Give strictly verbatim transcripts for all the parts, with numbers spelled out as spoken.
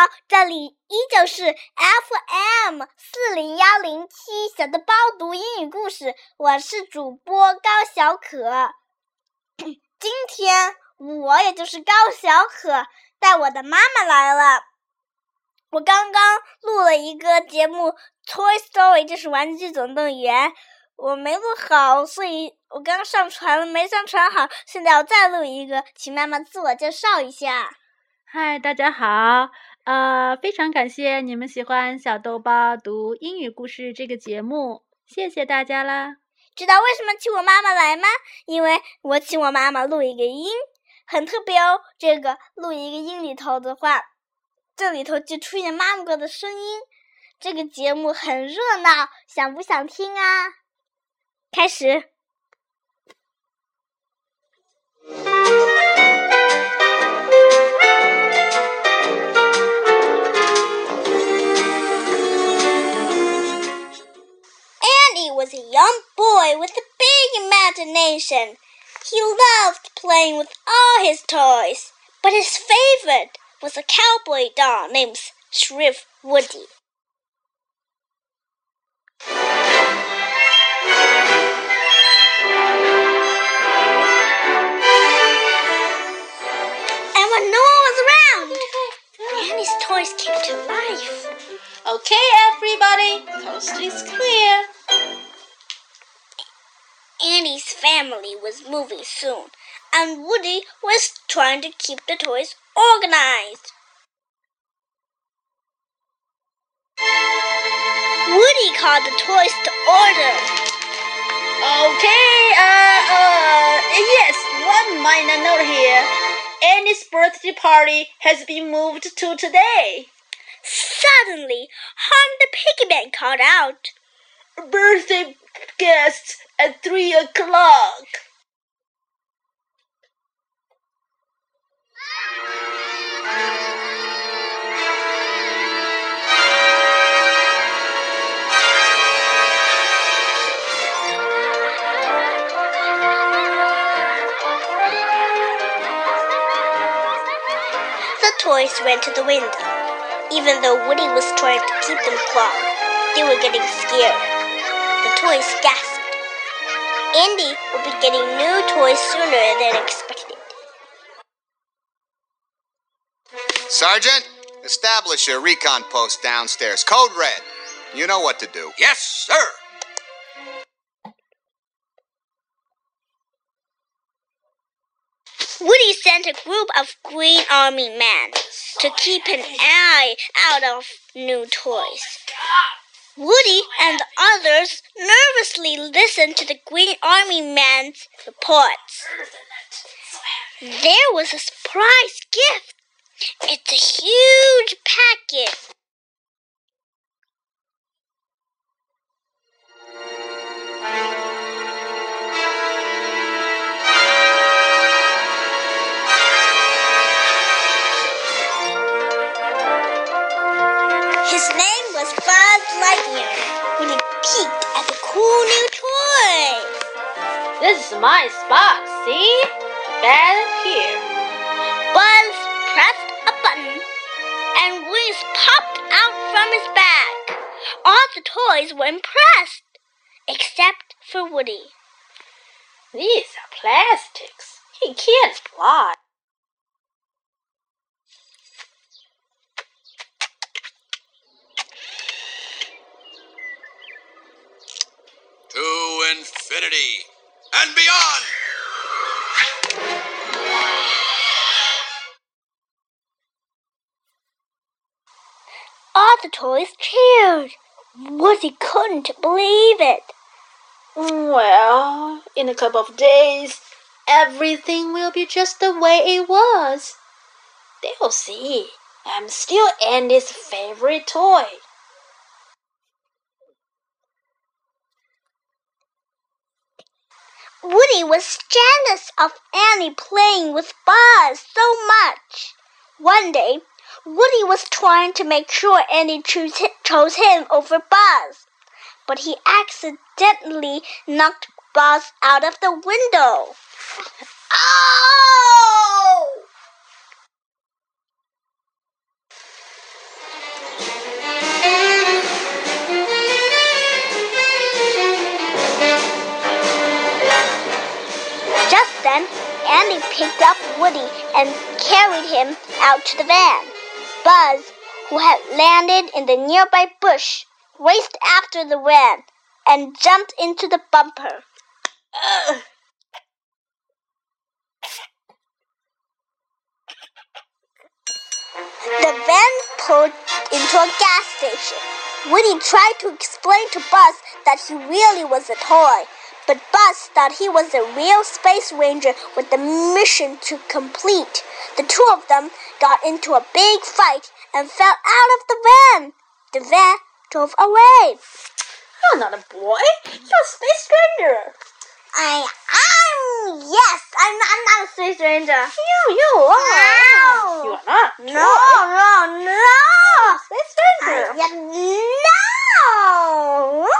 这里依旧是 F M 四零一零七小的包读英语故事，我是主播高小可。今天我也就是高小可带我的妈妈来了。我刚刚录了一个节目 Toy Story， 就是玩具总动员，我没录好，所以我刚上传了，没上传好，现在我再录一个，请妈妈自我介绍一下。 嗨，大家好，呃，非常感谢你们喜欢小豆包读英语故事这个节目，谢谢大家啦。 知道为什么请我妈妈来吗？因为我请我妈妈录一个音，很特别哦。这个录一个音里头的话，这里头就出现妈妈的声音。这个节目很热闹，想不想听啊？开始。Andy was a young boy with a big imagination. He loved playing with all his toys, but his favorite was a cowboy doll named Sheriff Woody. And when no one was around, Andy's toys came to life. Okay, everybody, coast is clear. Andy's family was moving soon, and Woody was trying to keep the toys organized. Woody called the toys to order. Okay, uh, uh, yes, one minor note here. Annie's birthday party has been moved to today. Suddenly, Hon the piggyback called out, Birthday guests at three o'clock. The toys ran to the window. Even though Woody was trying to keep them quiet, they were getting scared. The toys gasped. Andy would be getting new toys sooner than expected. Sergeant, establish a recon post downstairs. Code red. You know what to do. Yes, sir. Woody sent a group of Green Army men to keep an eye out of new toys. Woody and the others nervously listened to the Green Army men's reports. There was a surprise gift. It's a huge package. His name was Buzz Lightyear when he peeked at the cool new toy. This is my spot, see? Bed here. Buzz pressed a button and wings popped out from his back. All the toys were impressed, except for Woody. These are plastics. He can't fly. To infinity and beyond! All the toys cheered. Woody couldn't believe it. Well, in a couple of days, everything will be just the way it was. They'll see. I'm still Andy's favorite toy. Woody was jealous of Annie playing with Buzz so much. One day, Woody was trying to make sure Annie choose, chose him over Buzz, but he accidentally knocked Buzz out of the window. Oh! Then Andy picked up Woody and carried him out to the van. Buzz, who had landed in the nearby bush, raced after the van and jumped into the bumper. Ugh. The van pulled into a gas station. Woody tried to explain to Buzz that he really was a toy, but Buzz thought he was a real space ranger with a mission to complete. The two of them got into a big fight and fell out of the van. The van drove away. You're not a boy. You're a space ranger. I, I'm, yes, I'm not, I'm not a space ranger. You, you are. No. You are not. No, no, no. Space ranger. I, yeah, no.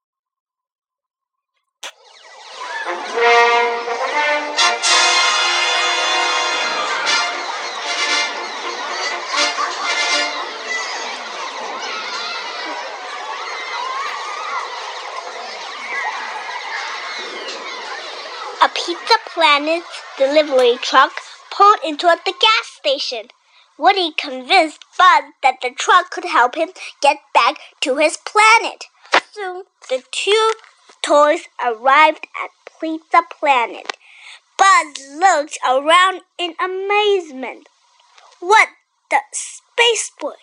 A Pizza Planet delivery truck pulled into the gas station. Woody convinced Buzz that the truck could help him get back to his planet. Soon, the two toys arrived at Pizza Planet. Buzz looked around in amazement. What the spaceport?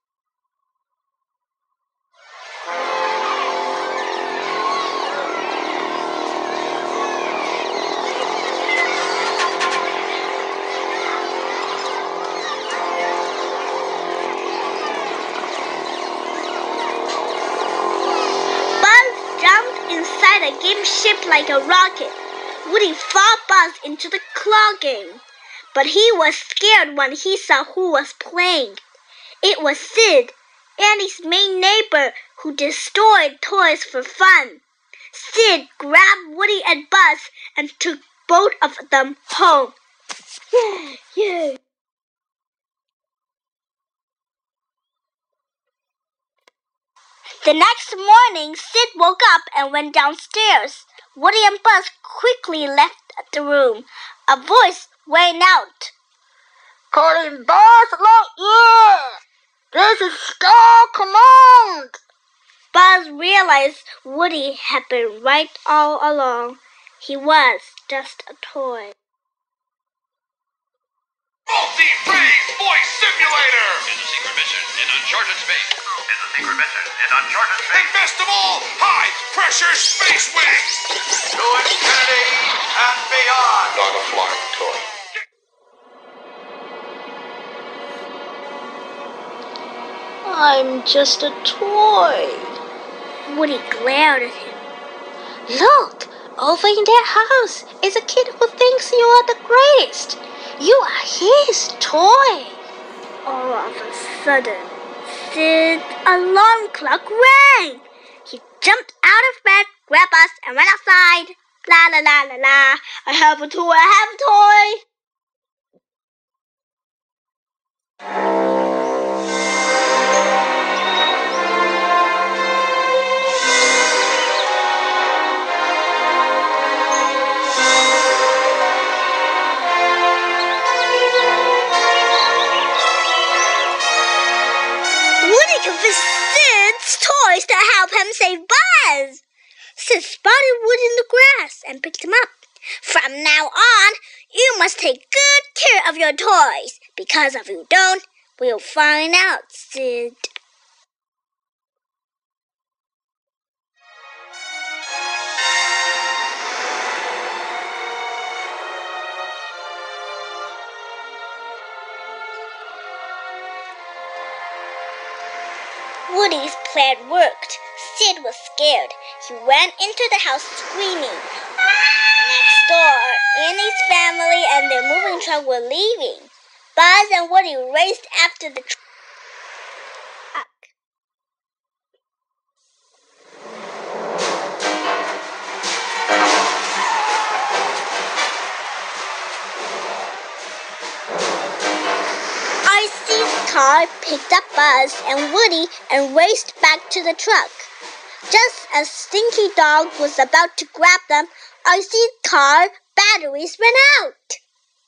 Inside a game shaped like a rocket, Woody fought Buzz into the claw game. But he was scared when he saw who was playing. It was Sid, Andy's main neighbor, who destroyed toys for fun. Sid grabbed Woody and Buzz and took both of them home. Yay! Yay! The next morning, Sid woke up and went downstairs. Woody and Buzz quickly left the room. A voice rang out. Calling Buzz Lightyear! This is Star Command! Buzz realized Woody had been right all along. He was just a toy. Multi-phase voice simulator! It's a secret mission in uncharted space. It's a secret mission in uncharted space. And best of all, high-pressure space wings! To infinity and beyond! Not a flying toy. I'm just a toy. Woody glared at him. Look, over in that house is a kid who thinks you are the greatest. You are his toy. All of a sudden, Sid's alarm clock rang. He jumped out of bed, grabbed us, and went outside. La la la la la. I have a toy, I have a toy. Sid's toys to help him save Buzz. Sid spotted Woody in the grass and picked him up. From now on, you must take good care of your toys, because if you don't, we'll find out, Sid. Woody's plan worked. Sid was scared. He ran into the house screaming. Next door, Annie's family and their moving truck were leaving. Buzz and Woody raced after the truck. Car picked up Buzz and Woody and raced back to the truck. Just as Stinky Dog was about to grab them, Icey's car batteries ran out.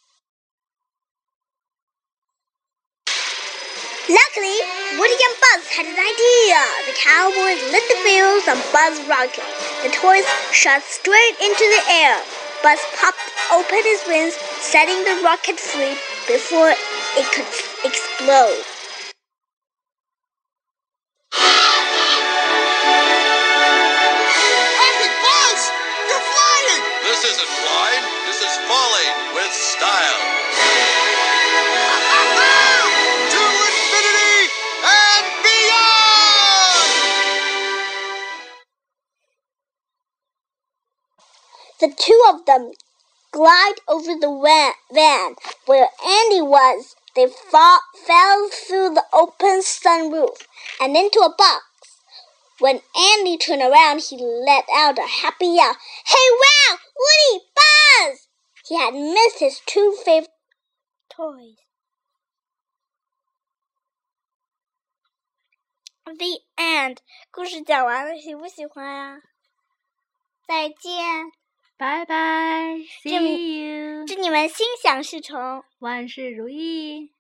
Luckily, Woody and Buzz had an idea. The cowboys lit the wheels on Buzz's rocket. The toys shot straight into the air. Buzz popped open his wings, setting the rocket free before it could explode. Hey, Buzz! You're flying! This isn't flying. This is falling with style. To infinity and beyond! The two of them glide over the van where Andy was. They fall, fell through the open sunroof and into a box. When Andy turned around, he let out a happy yell. Hey, wow! Woody! Buzz! He had missed his two favorite toys. The end. 故事讲完了，喜不喜欢呀？再见。 拜拜 ，See you， 祝你们心想事成， 万事如意。